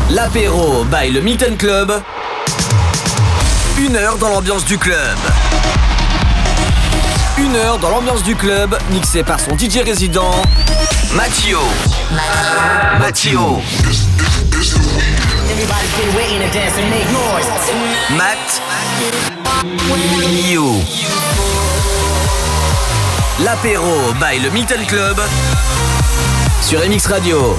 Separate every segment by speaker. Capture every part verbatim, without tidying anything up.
Speaker 1: L'apéro by le Milton Club. Une heure dans l'ambiance du club. Une heure dans l'ambiance du club, mixé par son D J résident, Mattio. Mattio. Matt. You. L'apéro by le Milton Club sur M X Radio.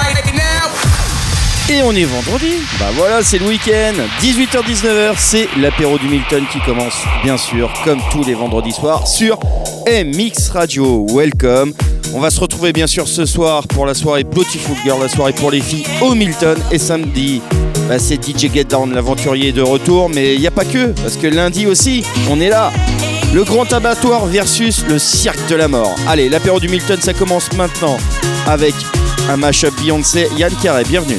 Speaker 2: Et on est vendredi. Bah voilà, c'est le week-end. dix-huit heures dix-neuf heures, c'est l'apéro du Milton qui commence, bien sûr, comme tous les vendredis soirs, sur M X Radio. Welcome. On va se retrouver, bien sûr, ce soir pour la soirée Beautiful Girl, la soirée pour les filles au Milton. Et samedi, bah, c'est D J Get Down, l'aventurier de retour. Mais il n'y a pas que, parce que lundi aussi, on est là. Le grand abattoir versus le cirque de la mort. Allez, l'apéro du Milton, ça commence maintenant avec un mash-up Beyoncé. Yann Carré, bienvenue.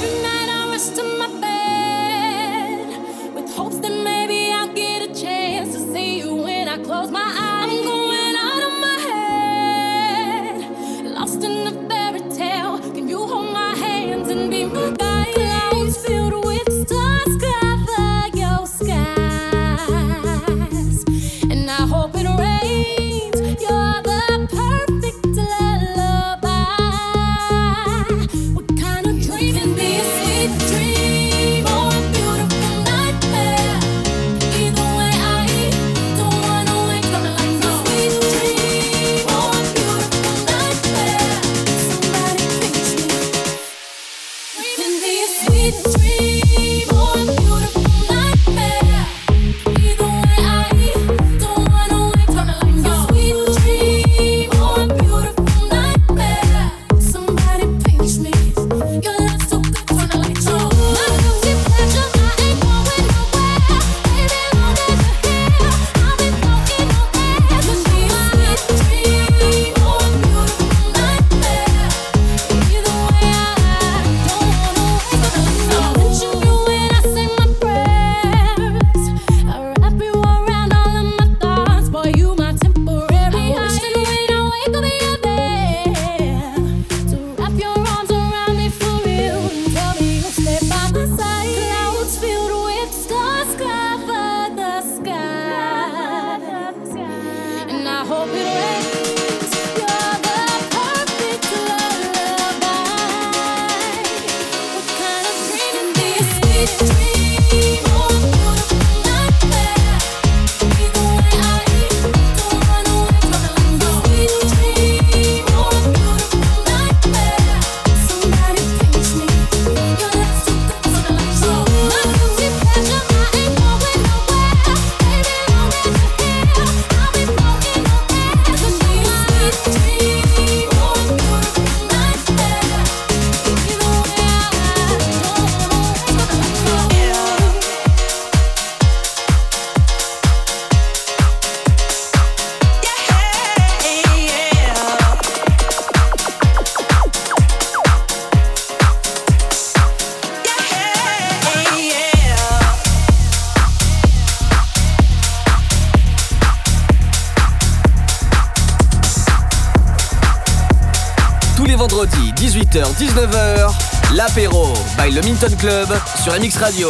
Speaker 1: dix-huit heures dix-neuf heures, l'apéro by le Milton Club sur M X Radio.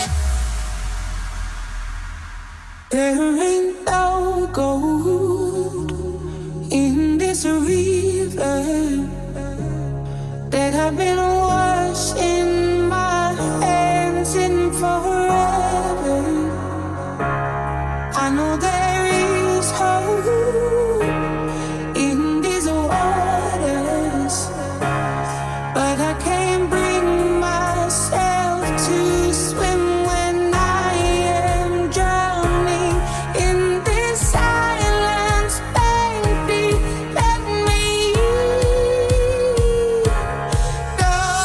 Speaker 3: There ain't no gold in this river that I've been washing my hands in forever. I know there is hope in these waters, but I can't bring myself to swim when I am drowning in this silence. Baby, let me go.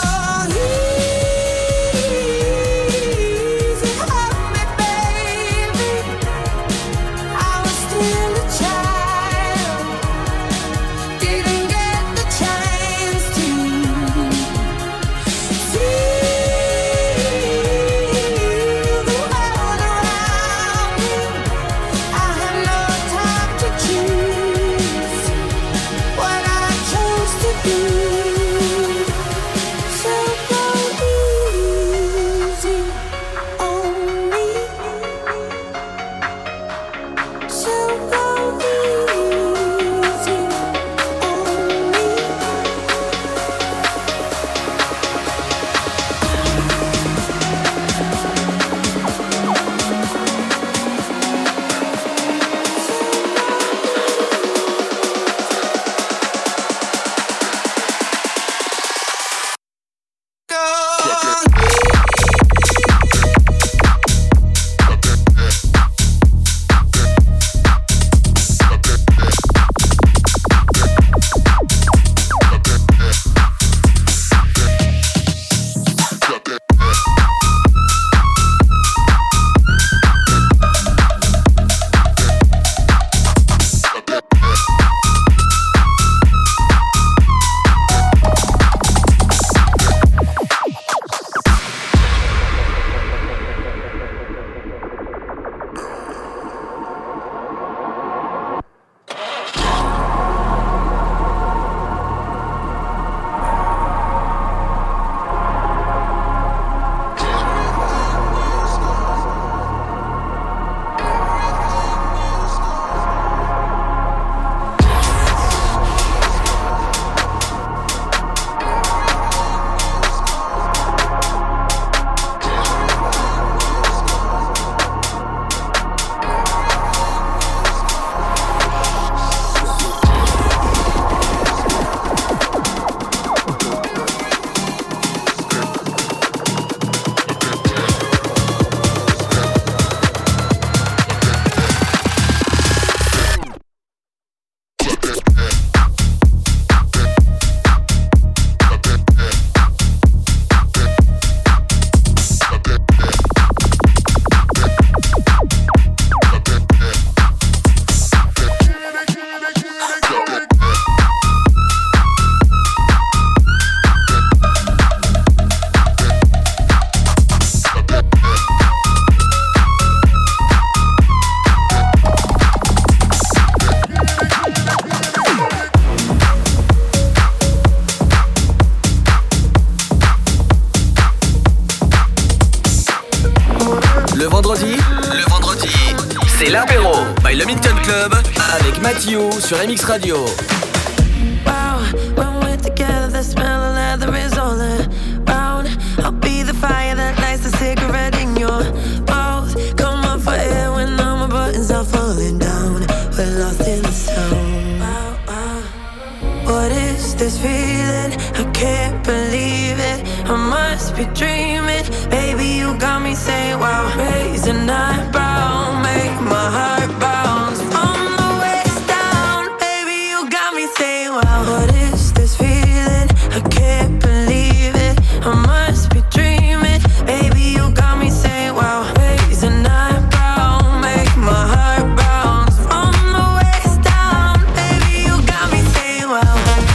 Speaker 1: club avec Mathieu sur M X Radio.
Speaker 4: Wow, when we're together, the smell of leather is all around. I'll be the fire that lights the cigarette in your mouth. Come on for air when all my buttons are falling down. We're lost in the sound. Wow, wow. What is this feeling? I can't believe it. I must be dreaming. Baby, you got me saying wow. Raise an eyebrow, make my heart bounce. From the waist down, baby, you got me saying wow. What is this feeling? I can't believe it. I must be dreaming. Baby, you got me saying wow. Raise an eyebrow, make my heart bounce. From the waist down, baby, you got me saying wow.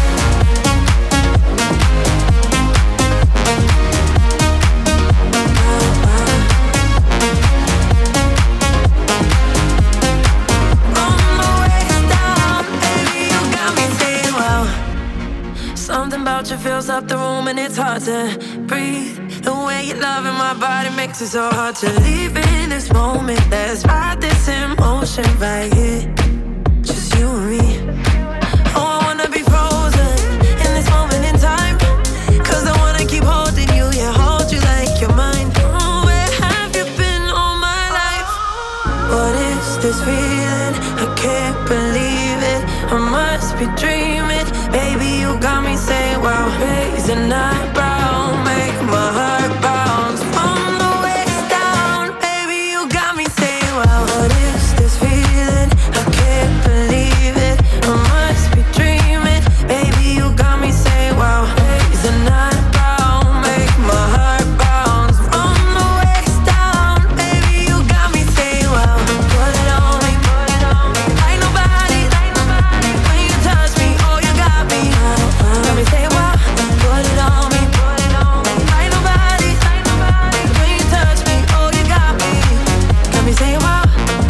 Speaker 4: Something about you fills up the room and it's hard to breathe. The way you're loving my body makes it so hard to leave in this moment. Let's ride this emotion right here, just you and me. Oh, I wanna be frozen in this moment in time, cause I wanna keep holding you, yeah, hold you like you're mine. Oh, where have you been all my life? What is this feeling? I can't believe it. I must be dreaming. Baby, you got me saying wow. Raise an eyebrow, make my heart bounce. From the waist down, baby, you got me saying wow. What is this feeling? I can't believe it. I must be dreaming. Baby, you got me saying wow. Raise an eyebrow, make my heart bounce. From the waist down, baby, you got me saying wow. Put it on me, put it on me. Like nobody, like nobody. When you touch me, oh, you got me. Got me saying wow. Put it on me, put it on me. Like nobody, like nobody. When you touch me, oh, you got me. Got me saying wow.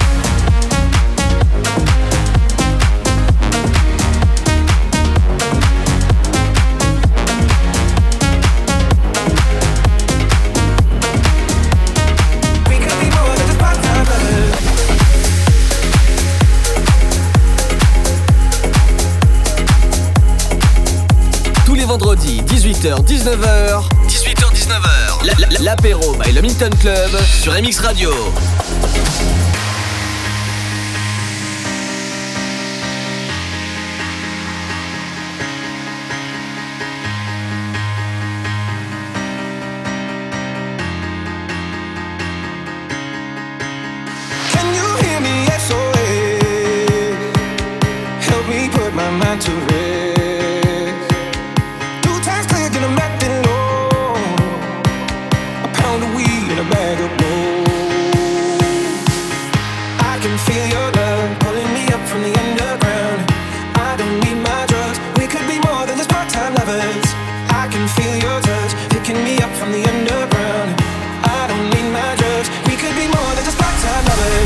Speaker 3: We could be more than just part-time lovers.
Speaker 1: Tous les vendredis, dix-huit heures dix-neuf heures. dix-huit heures dix-neuf heures. La- la- L'apéro by le Milton Club sur M X Radio.
Speaker 3: Can you hear me? S O S. Help me put my mind to rest. Two times cleared and I'm acting low. A pound of weed and a bag of gold. I can feel your love pulling me up from the underground. I don't need my drugs. We could be more than just part-time lovers. I can feel your touch picking me up from the underground. I don't need my drugs. We could be more than just part-time lovers.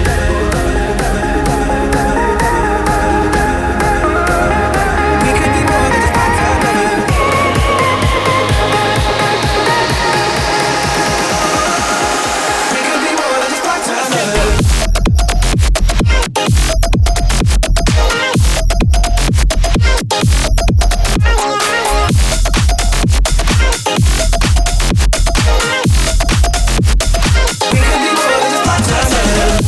Speaker 3: We could be more than just part-time lovers. We could be more than just part-time lovers. We could be more than just part-time lovers.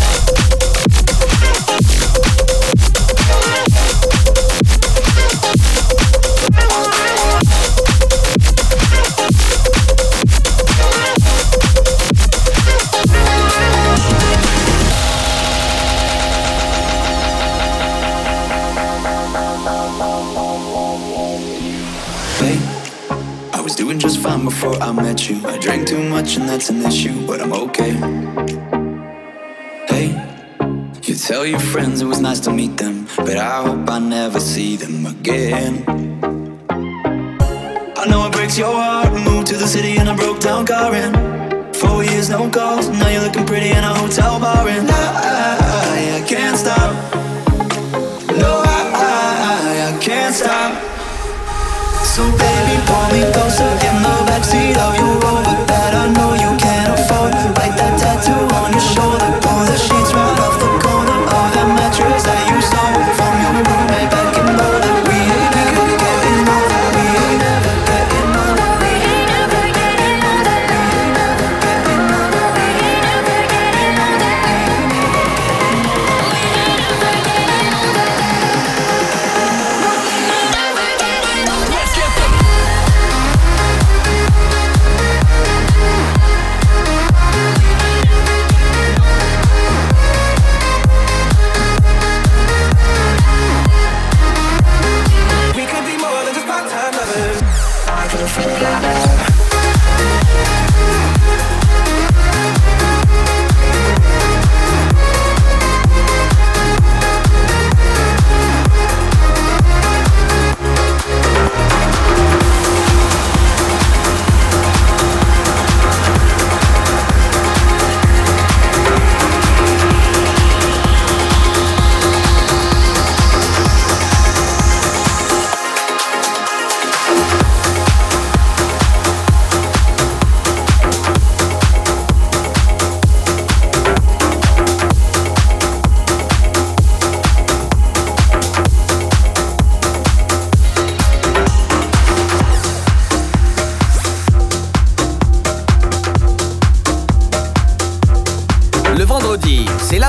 Speaker 5: Hey, I was doing just fine before I met you. I drank too much and that's an issue, but I'm okay. Hey, you tell your friends it was nice to meet them, but I hope I never see them again. I know it breaks your heart. Moved to the city in a broke down car and four years no calls. Now you're looking pretty in a hotel bar and I, I can't stop. No, I, I, I can't stop. So baby, pull me closer in the backseat of your Rover that I know you can't afford. Like that tattoo on your shoulder, pull the sheets right off the corner of that mattress.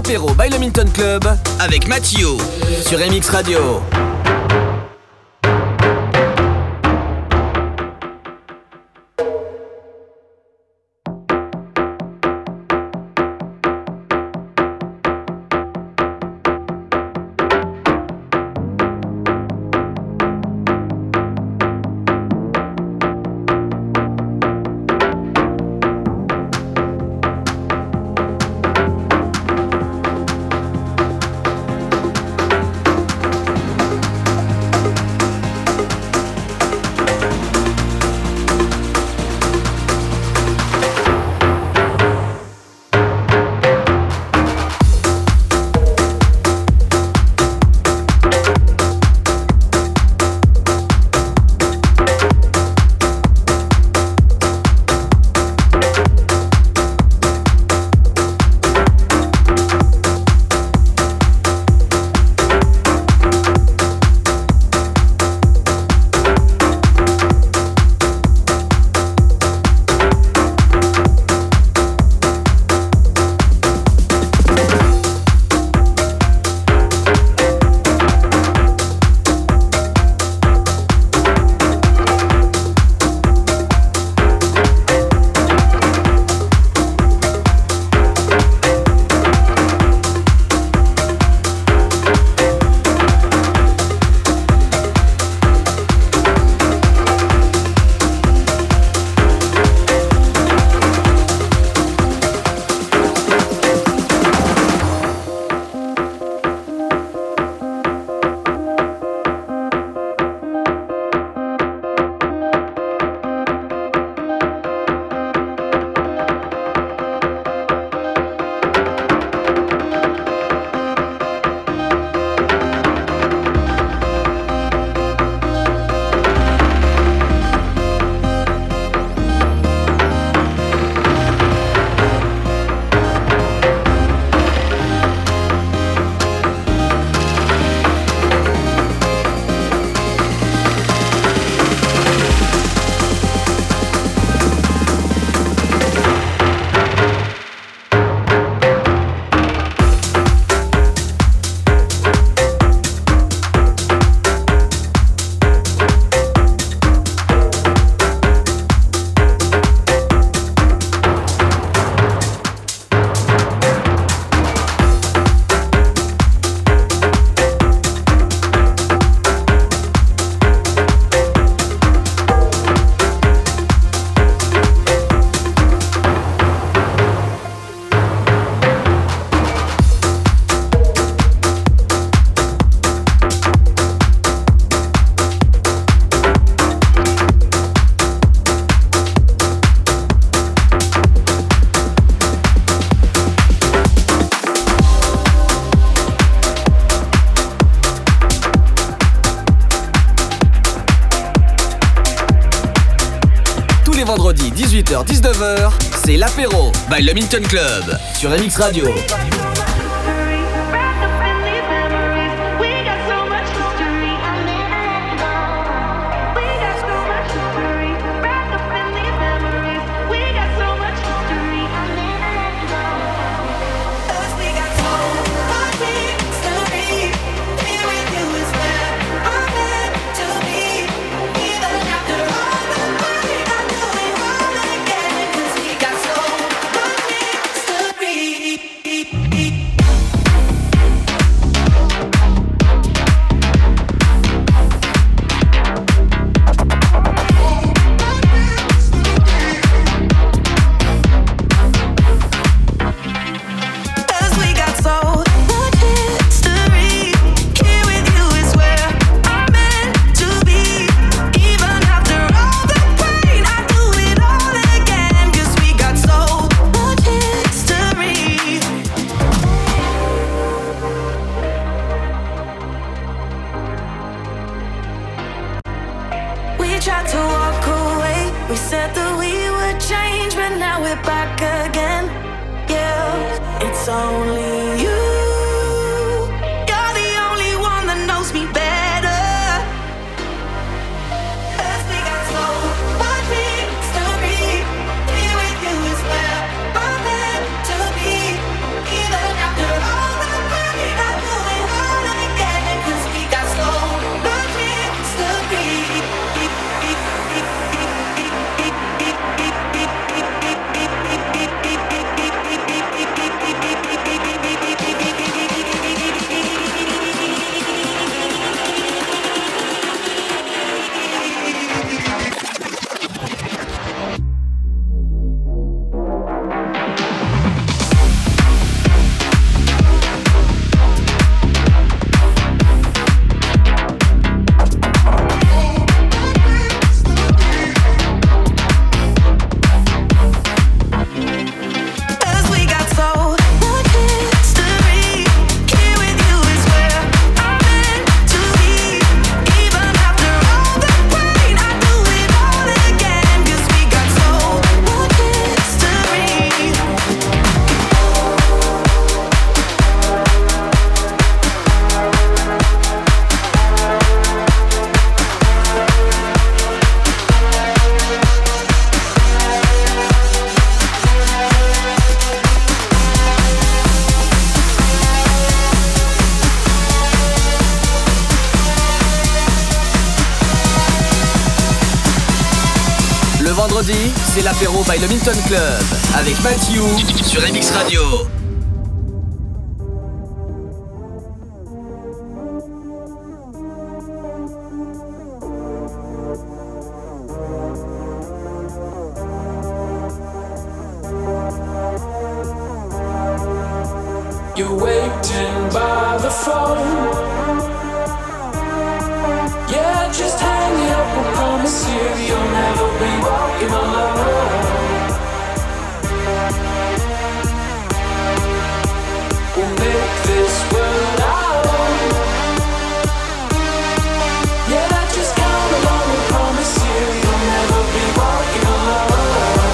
Speaker 1: l'apéro by le Milton Club avec Mathieu sur M X Radio. Vendredi dix-huit heures dix-neuf heures, c'est l'apéro by le Milton Club sur M X Radio.
Speaker 6: After all
Speaker 1: vendredi, c'est l'apéro by le Milton Club avec Mathieu sur M X Radio.
Speaker 6: You're waiting by the phone. Yeah, just hang up. I promise you, you'll never be walking alone. We'll make this world our own. Yeah, just come along. I promise you, you'll never be walking alone.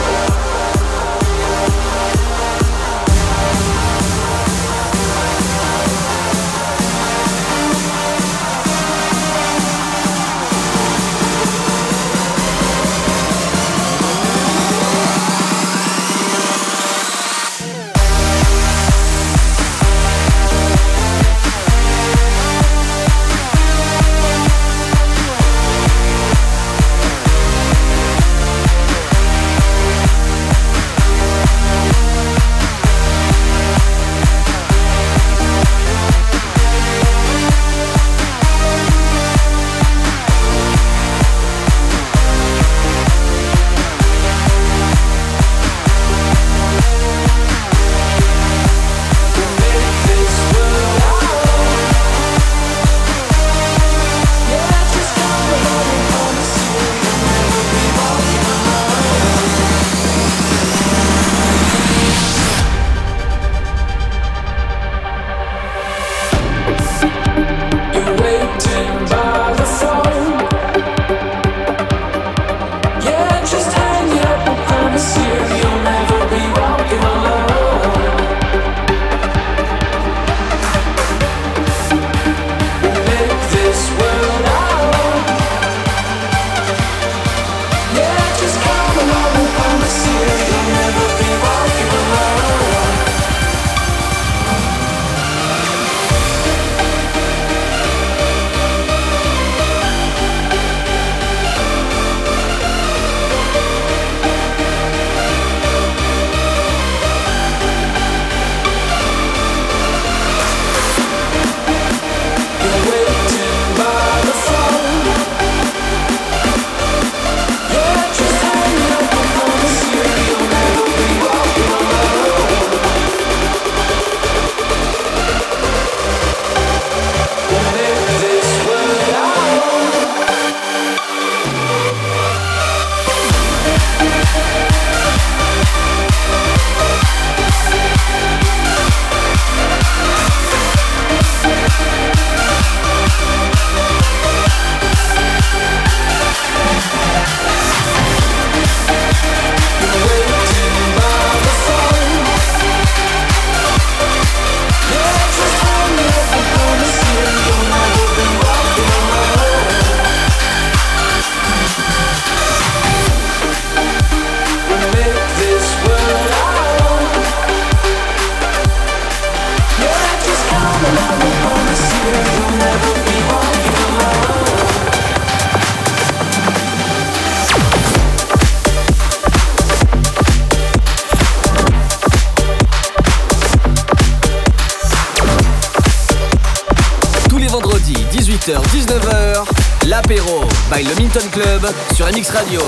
Speaker 1: dix-neuf heures, l'apéro by le Milton Club sur M X Radio.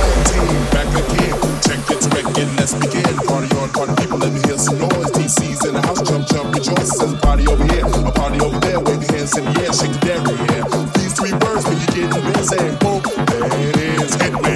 Speaker 7: Back again, check it, check it, let's begin. Party on, party people, let me hear some noise. D C's in the house, jump, jump, rejoice. There's a party over here, a party over there. Wave your hands in the air, shake the dairy, yeah. These three words when you get in the bed, saying boom, there it is, hit me.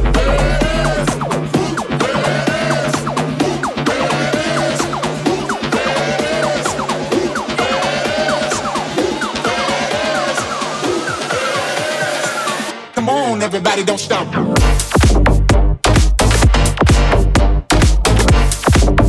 Speaker 7: Everybody don't stop.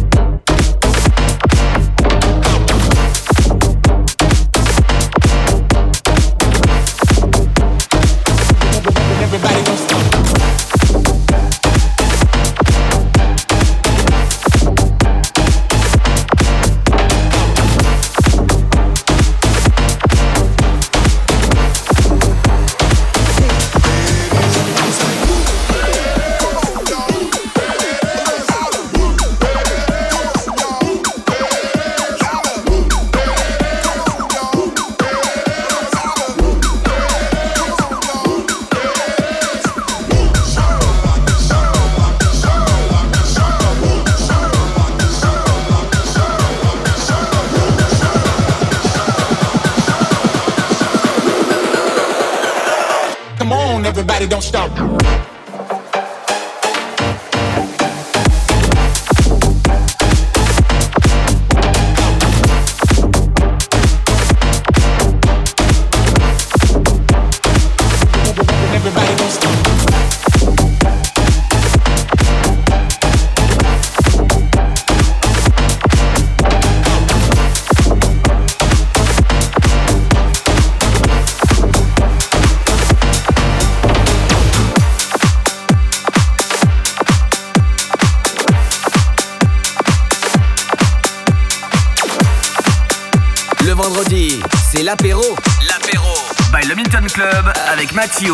Speaker 1: Vendredi, c'est l'apéro. L'apéro by le Milton Club avec Mathieu.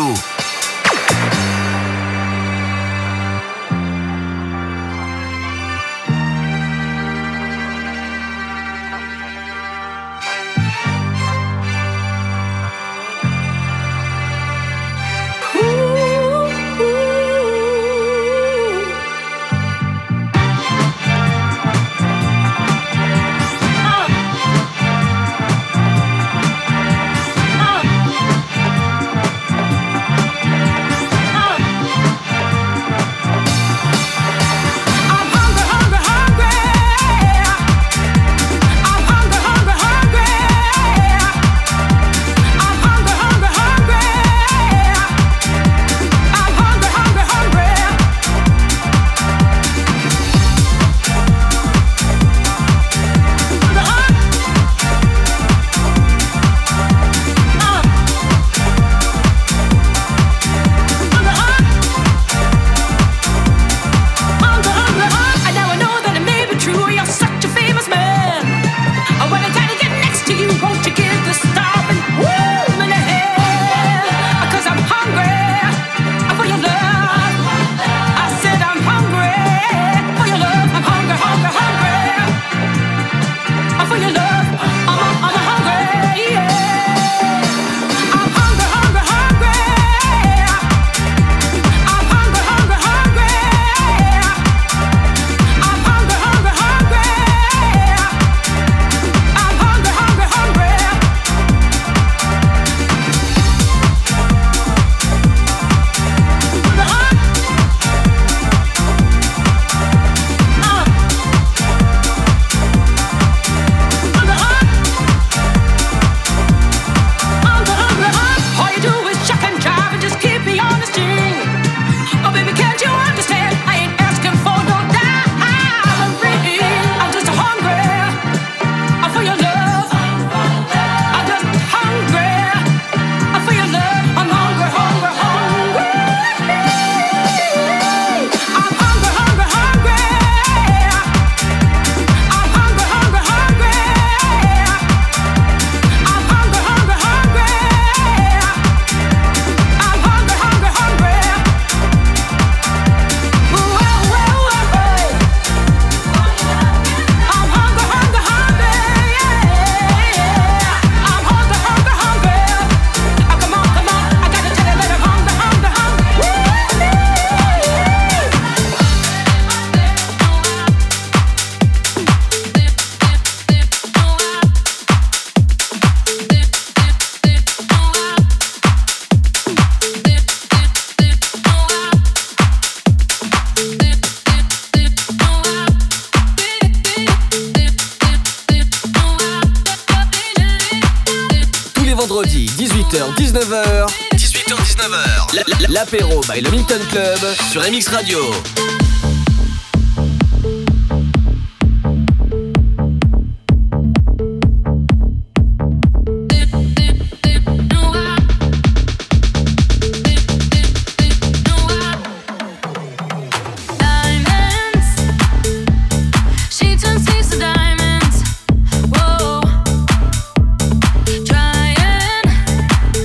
Speaker 1: vendredi, dix-huit heures dix-neuf heures. dix-huit heures dix-neuf heures. L'apéro by le Milton Club sur M X Radio.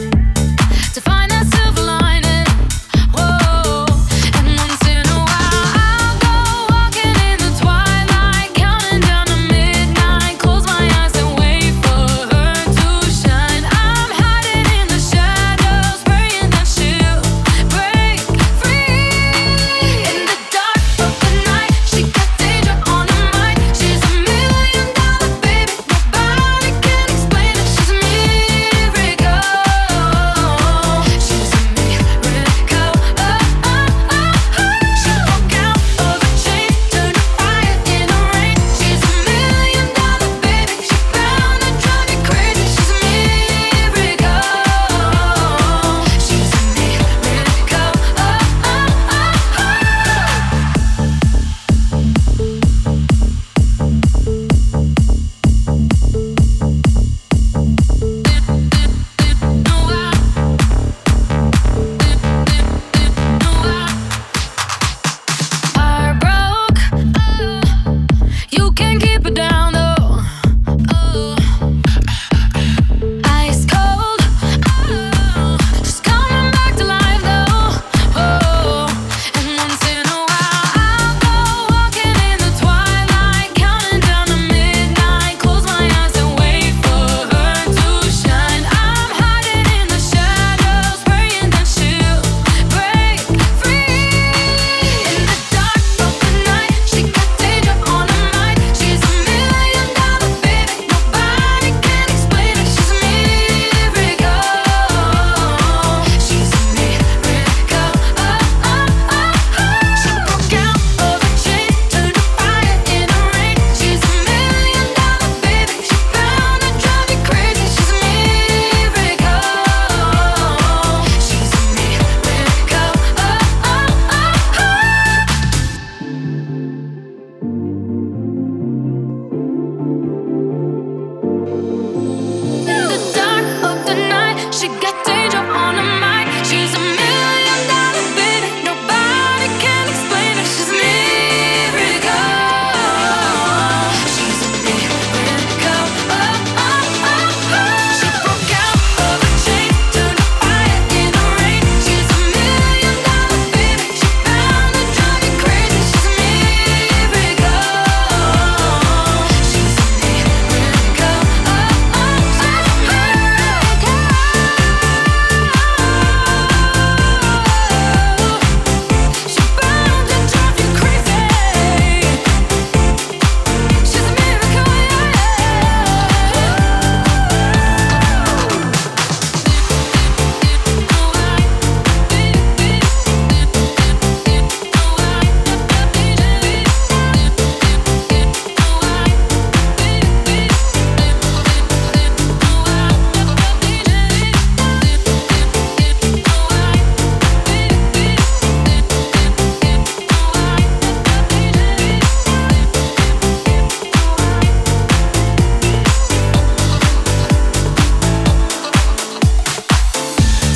Speaker 8: To find that silver lining, whoa. And once in a while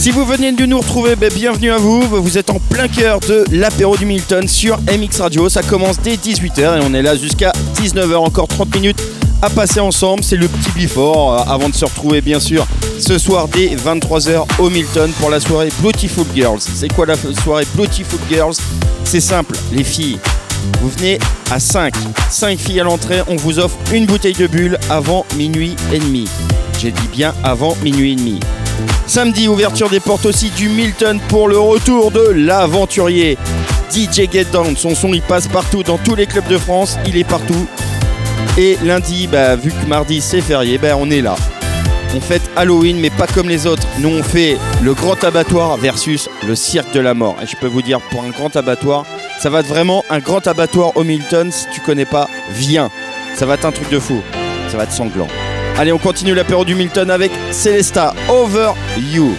Speaker 2: Si vous venez de nous retrouver, ben bienvenue à vous. Vous êtes en plein cœur de l'apéro du Milton sur M X Radio. Ça commence dès dix-huit heures et on est là jusqu'à dix-neuf heures. Encore trente minutes à passer ensemble. C'est le petit before euh, avant de se retrouver bien sûr ce soir dès vingt-trois heures au Milton pour la soirée Beautiful Girls. C'est quoi la soirée Beautiful Girls? C'est simple, les filles. Vous venez à cinq. cinq filles à l'entrée. On vous offre une bouteille de bulle avant minuit et demi. J'ai dit bien avant minuit et demi. Samedi, ouverture des portes aussi du Milton pour le retour de l'aventurier. D J Get Down, son son il passe partout dans tous les clubs de France, il est partout. Et lundi, bah, vu que mardi c'est férié, bah, on est là. On fête Halloween mais pas comme les autres. Nous on fait le grand abattoir versus le cirque de la mort. Et je peux vous dire, pour un grand abattoir, ça va être vraiment un grand abattoir au Milton. Si tu connais pas, viens. Ça va être un truc de fou. Ça va être sanglant. Allez, on continue l'apéro du Milton avec Celesta, Over You.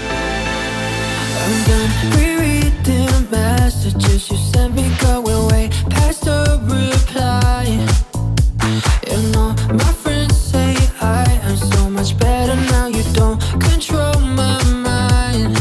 Speaker 4: I'm done rereading messages you sent me, going way past the reply. You know, my friends say I am so much better now. You don't control my mind.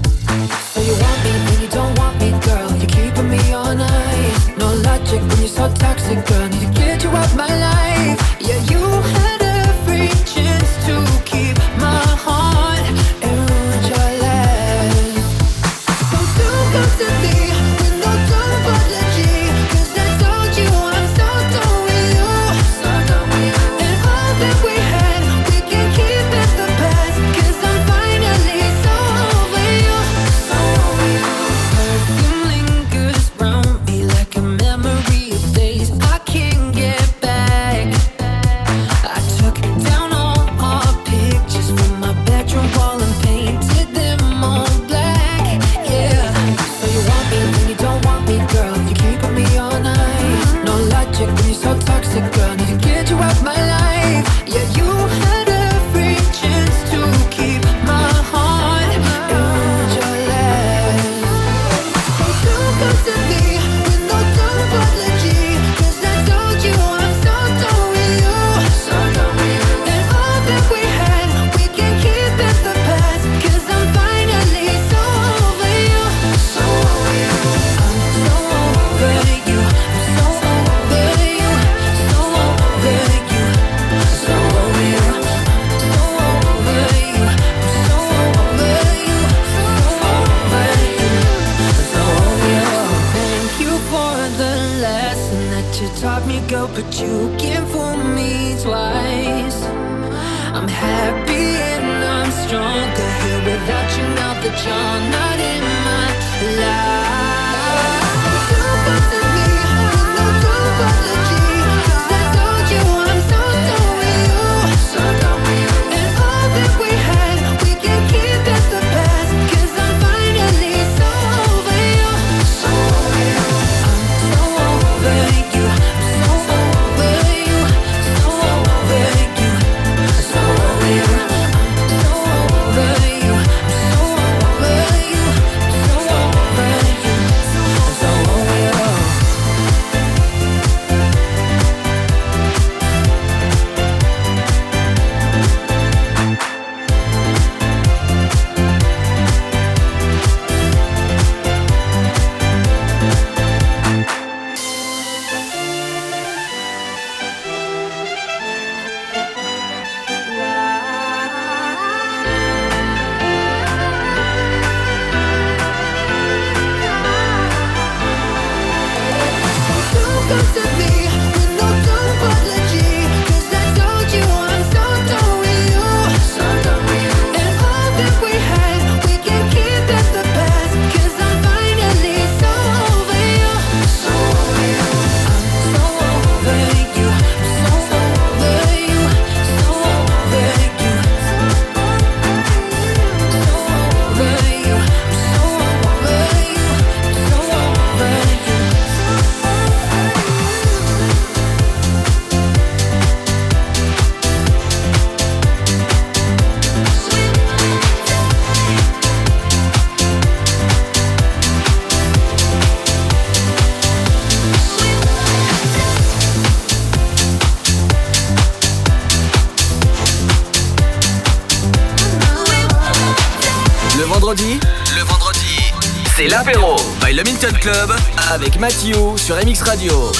Speaker 4: So you want me, then you don't want me, girl. You're keeping me on ice. No logic when you're so toxic, girl. Need to get you out my life. Yeah, you had every chance to keep my heart and ruin your life. So don't come to me with no apology, 'cause I told you I'm so done with you, so done with you. And all that we had, we can keep in the past, 'cause I'm finally so over you, so over you. Perfume lingers round me like a memory of days I can't get back. I took down all our pictures from my bedroom wall and painted them all black. Yeah. So you want me, then you don't want me, girl. You're keeping me on ice. No logic when you're so toxic, girl. Need to get you out my life. Yeah, you had every chance to keep my heart and ruin your life. So don't come to me with no apology, 'cause I told you I'm so done with you, so done with you. And all that we had, we can keep in the past, 'cause I'm finally so over you, so over you. I'm so over you, I'm so over you, so over you, so over you. I'm so over you, I'm so over you, so over you, so over you. Thank you for the lesson that you taught me, girl, but you can't fool me twice. I'm happy and I'm stronger here without you now that you're not in my life. Don't come to me with no apology, 'cause I told you I'm so done with you, so done with you. And all that we had, we can keep in the past, 'cause I'm finally so over you, so over you. I'm so over you, I'm so over you, so over you, so over you. I'm so over you, I'm so over you, so over you, so over you.
Speaker 1: vendredi, le vendredi, c'est l'apéro by le Milton Club avec Mathieu sur M X Radio.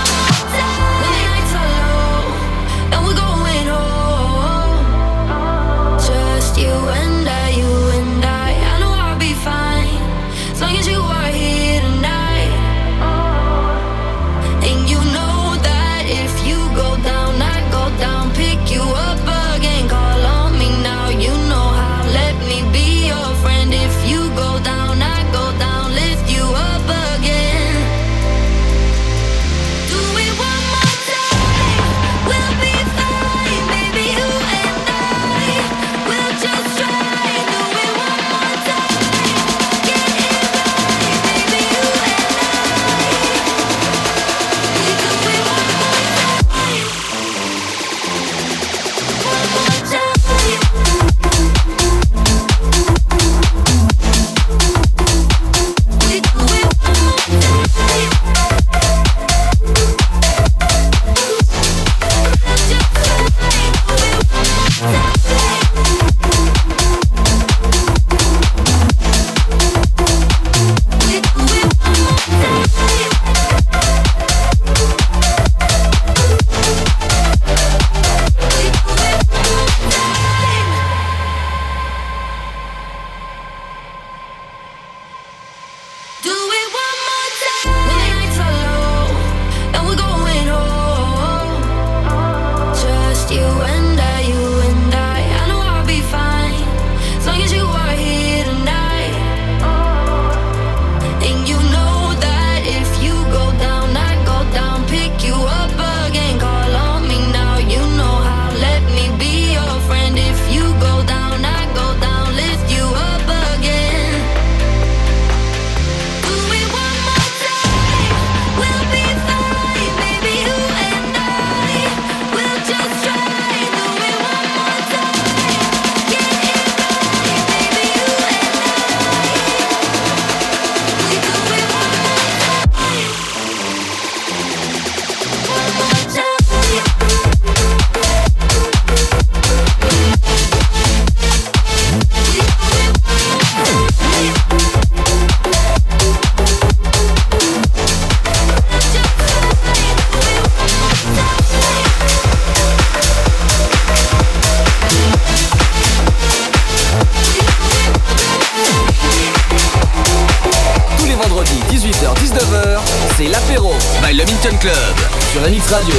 Speaker 1: Club sur M X Radio.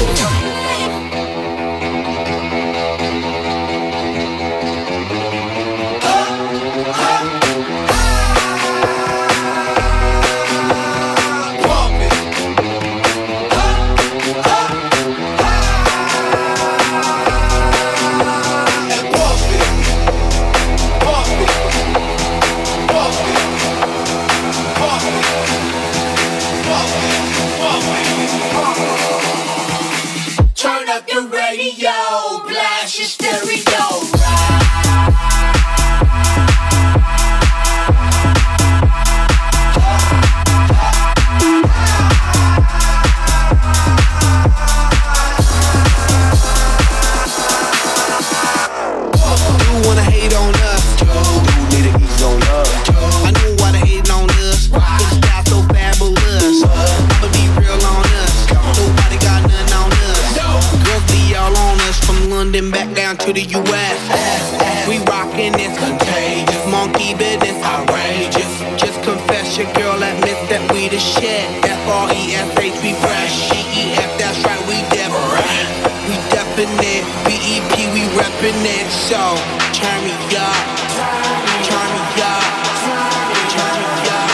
Speaker 8: To the U S We rockin' this contagious, monkey business outrageous. Just confess your girl admits that we the shit. F R E S H we fresh, G E F that's right we different. We definite, B E P we reppin' it. So turn me up, turn me up, turn me up.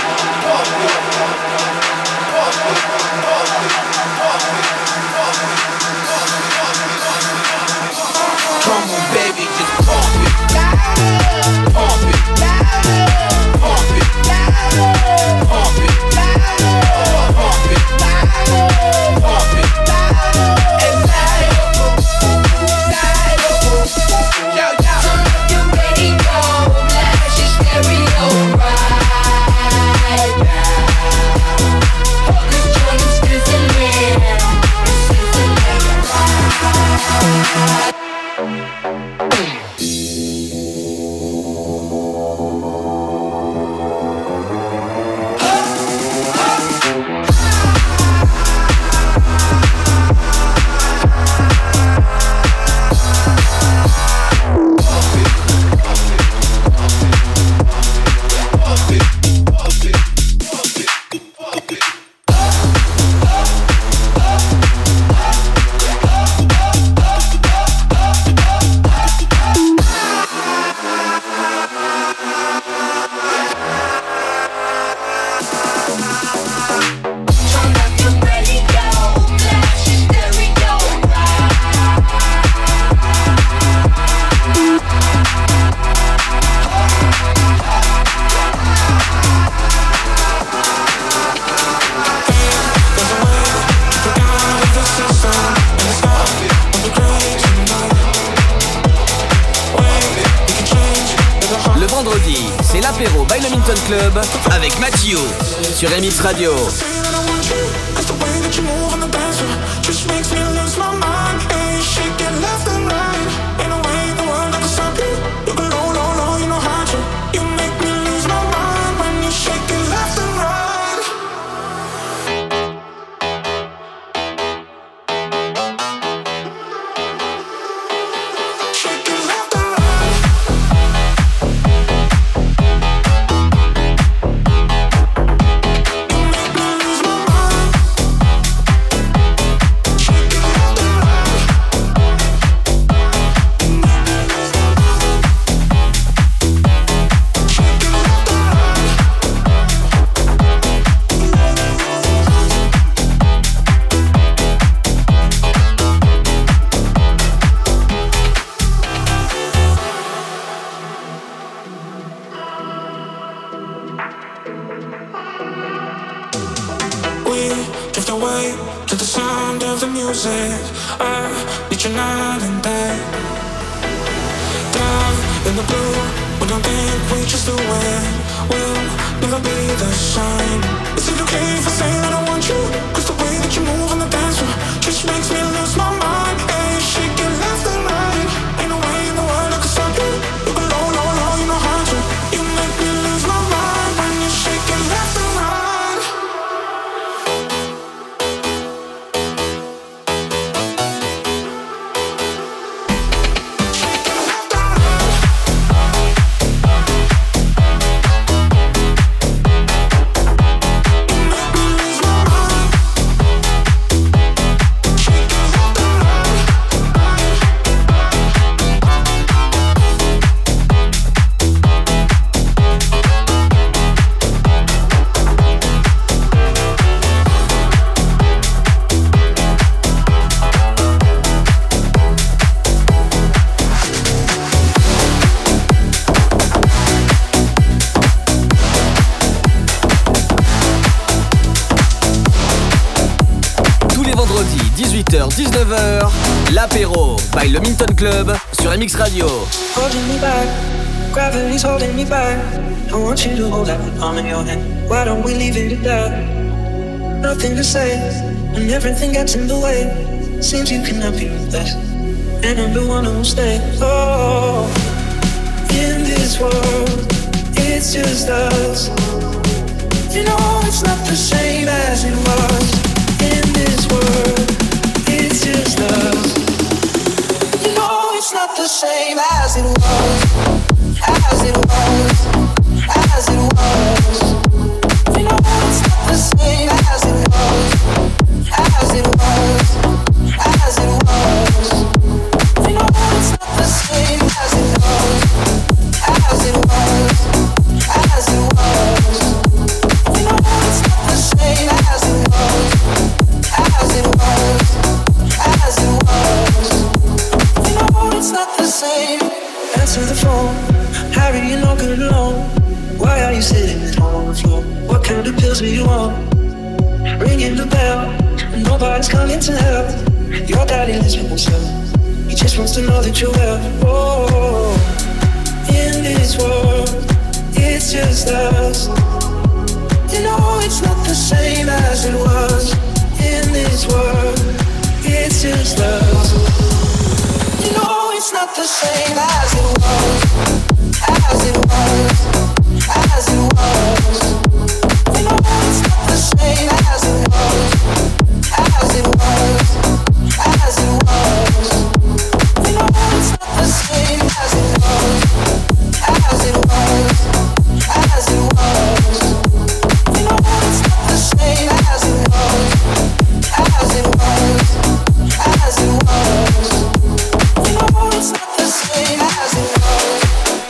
Speaker 8: Come on, baby, just pump it, pump it, pump it, pump it, pump it, pump it, and side up, side up, yo, yo, turn up your radio.
Speaker 1: Milton Club avec Mathieu sur M X Radio. dix-neuf heures, l'apéro by le Milton Club sur M X Radio.
Speaker 9: Holding me back, gravity's holding me back. I want you to hold that palm in your hand. Why don't we leave it at that? Nothing to say, when everything gets in the way. Seems you cannot be replaced, and I'm the one who will stay. Oh, in this world, it's just us. You know it's not the same as it was. In this world, it's just us. You know it's not the same as it was, as it was, as it was. You know it's not the same as it was, as it was, as it was. You know it's not the same as it was, as it was, as it was. You know it's not the same as it was, as it was, as it was. You know it's not the same. Answer the phone, Harry, you're no good alone. Why are you sitting at home on the floor? What kind of pills do you want? Ringing the bell, nobody's coming to help. Your daddy lives with himself, he just wants to know that you're well. Oh, in this world, it's just us. You know it's not the same as it was. In this world, it's just us. You know it's not the same as it was, as it was, as it was. You know it's not the same as it was, as it was, as it was. You know it's not the same as it was, as it was, as it was. You know it's not the same as it was, as it was, as it was. You know it's not the same as it was.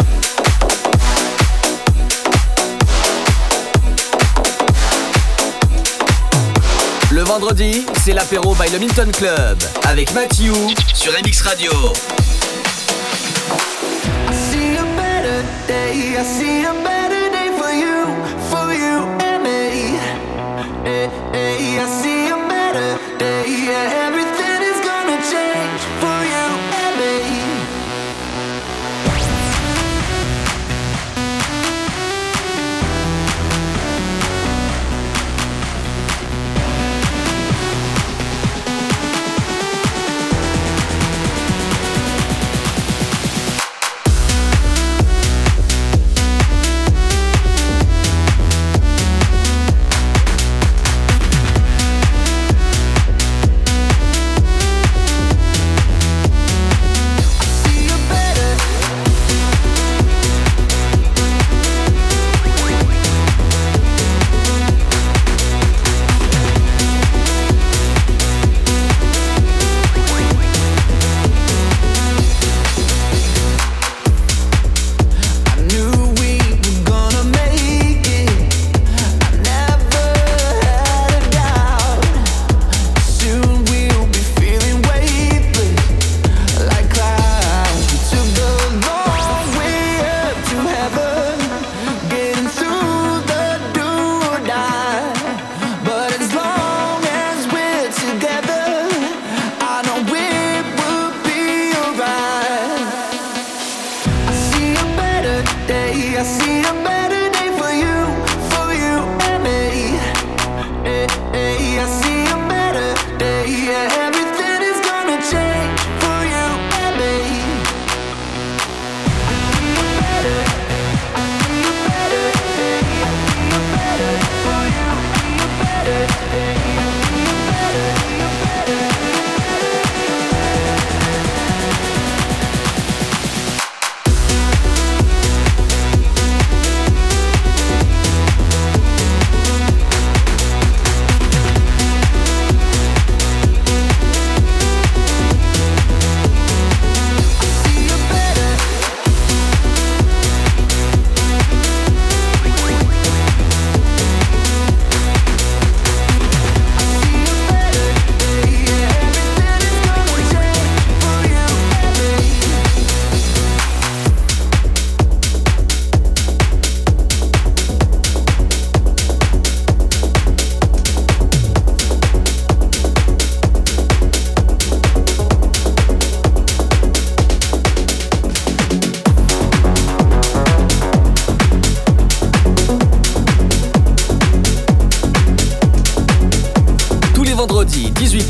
Speaker 1: Le vendredi, c'est l'apéro by le Milton Club avec Mathieu sur M X Radio.
Speaker 10: I see a better day, I see a better day for you, for you and me. Hey, hey, I see a better day, yeah, everything is gonna change for you and me.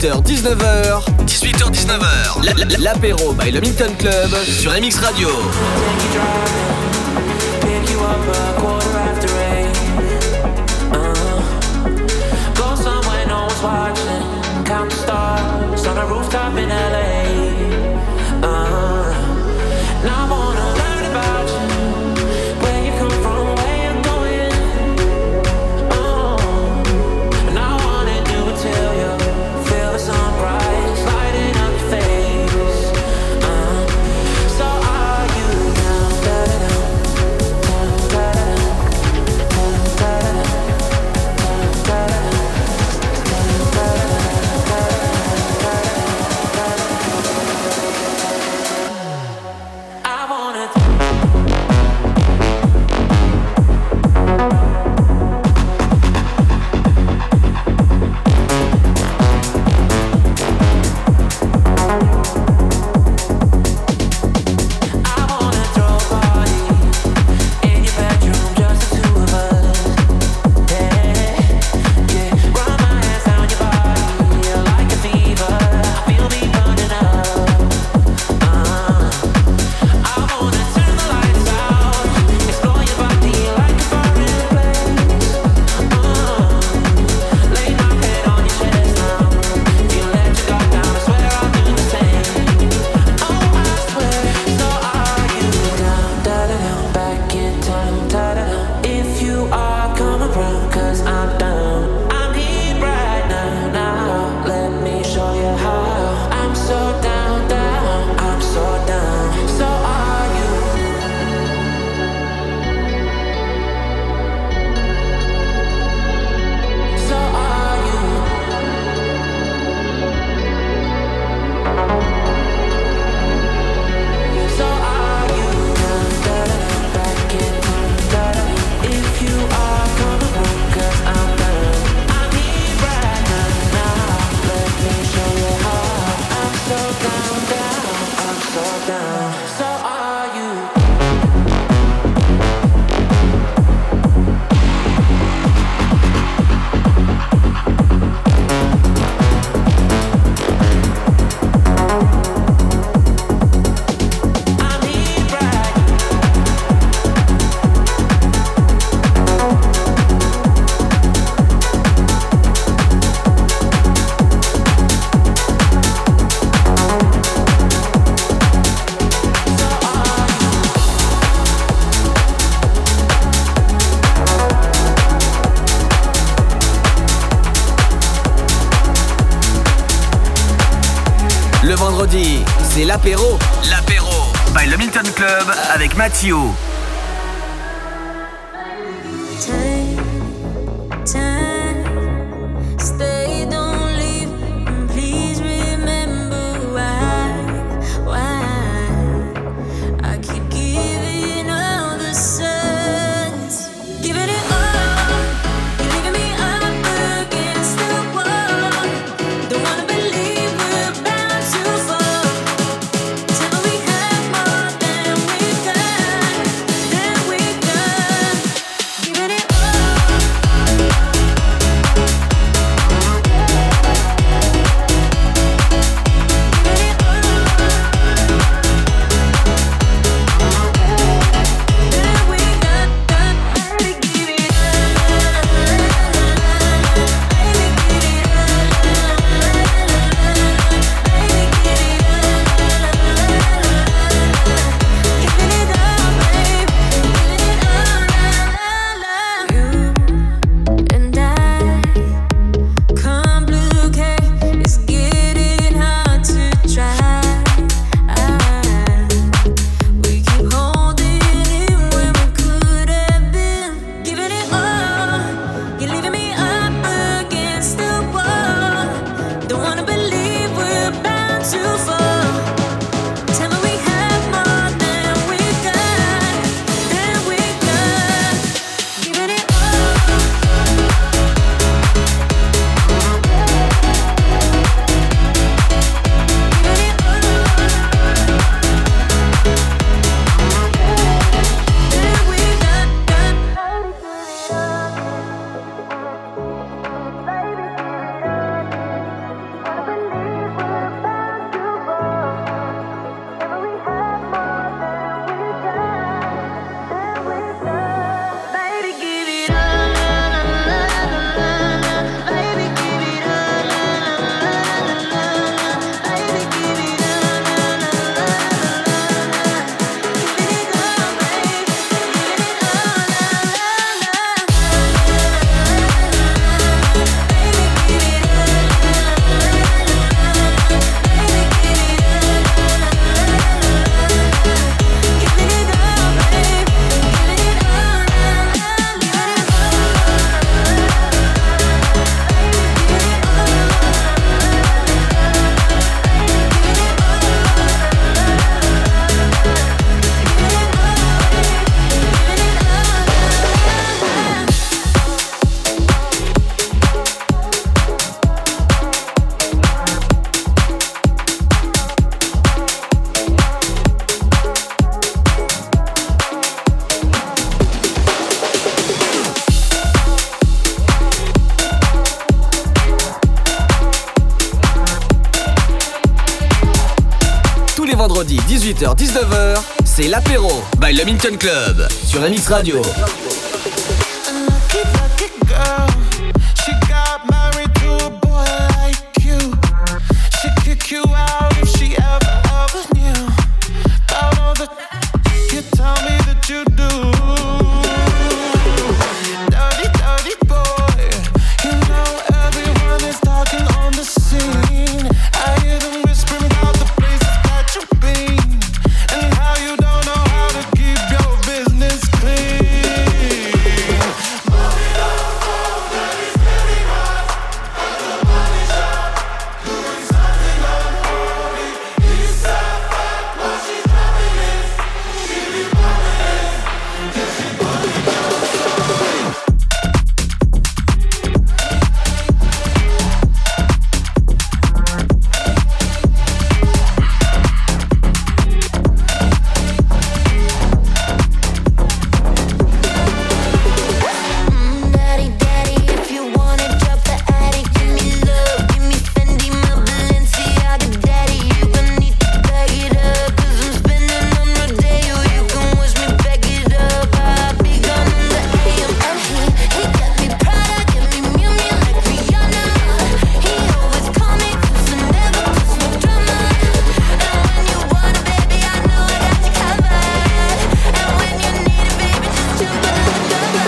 Speaker 1: dix-huit heures dix-neuf heures. dix-huit heures dix-neuf heures. La- la- L'apéro by le Milton Club sur M X Radio.
Speaker 6: Pick you up a quarter after eight. Uh, go somewhere no one's watching. Count the stars on a rooftop in L A. Uh, now I wanna learn about you, where you come from, where you're going. Uh, and I wanna do it till you feel the sunrise lighting up your face. Uh, so are you down, da da da.
Speaker 1: Le vendredi, c'est l'apéro. L'apéro by le Milton Club avec Mathieu.
Speaker 11: Time, time, stay, don't leave, and please remember why, why I keep giving all the signs, giving it all, you're leaving me up against the wall, don't wanna believe we're about to fall, tell me we have more than we've got.
Speaker 1: les vendredis dix-huit heures dix-neuf heures, c'est l'apéro by le Milton Club sur M X Radio.
Speaker 3: You out if she ever, ever knew about all the you tell me that you do. Dirty, dirty boy, you know everyone is talking on the scene. I hear them whispering about the places that you've been and how you don't know how to keep your business clean. Move it up, oh, baby's getting hot at the body shop, doing something unholy. He sat back while she dropping it. She be popping it, and she put it down slowly.
Speaker 11: Daddy, daddy, if you wanna drop the attic, give me love, give me Fendi, my Balenciaga, daddy. You gon' need to bag it up, 'cause I'm spending on Rodeo. You can wish me back it up. I'll be gone in the A M. And he, he got me Prada, got me Miu Miu like Rihanna. He always call me 'cause I never cause no drama. And when you want it, baby, I know I got you covered. And when you need it, baby, just jump under the cover.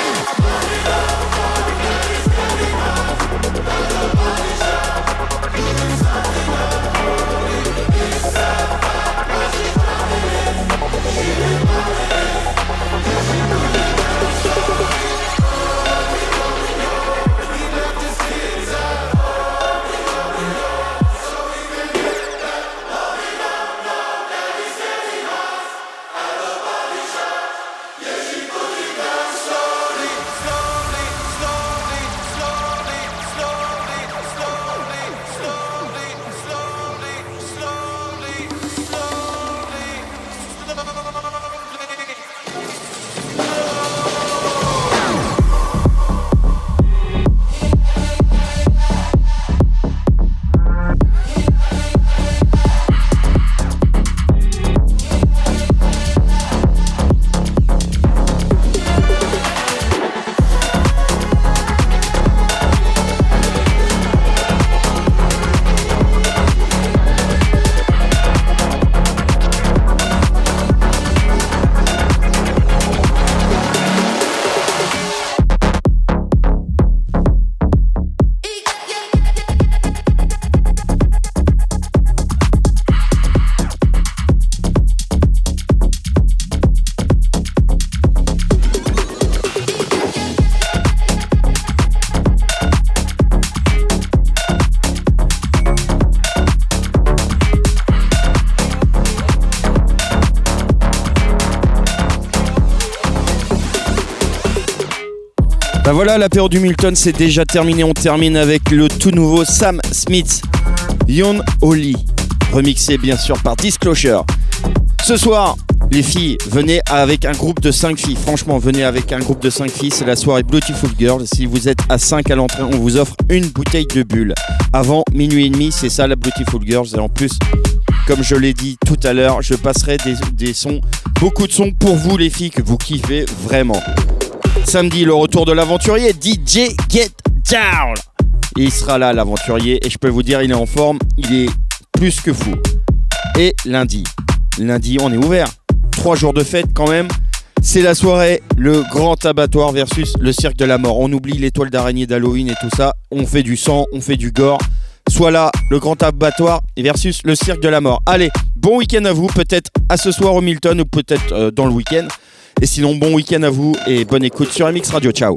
Speaker 2: Bah voilà, l'apéro du Milton c'est déjà terminé. On termine avec le tout nouveau Sam Smith, Young Holly, remixé bien sûr par Disclosure. Ce soir, les filles, venez avec un groupe de cinq filles. Franchement, venez avec un groupe de cinq filles. C'est la soirée Beautiful Girl. Si vous êtes à cinq à l'entrée, on vous offre une bouteille de bulle. Avant minuit et demi, c'est ça la Beautiful Girls. Et en plus, comme je l'ai dit tout à l'heure, je passerai des, des sons, beaucoup de sons pour vous les filles que vous kiffez vraiment. Samedi, le retour de l'aventurier D J Get Down. Et il sera là, l'aventurier, et je peux vous dire, il est en forme, il est plus que fou. Et lundi, lundi, on est ouvert. Trois jours de fête quand même. C'est la soirée, le grand abattoir versus le cirque de la mort. On oublie l'étoile d'araignée d'Halloween et tout ça. On fait du sang, on fait du gore. Soit là, le grand abattoir versus le cirque de la mort. Allez, bon week-end à vous, peut-être à ce soir au Milton ou peut-être euh, dans le week-end. Et sinon, bon week-end à vous et bonne écoute sur M X Radio. Ciao.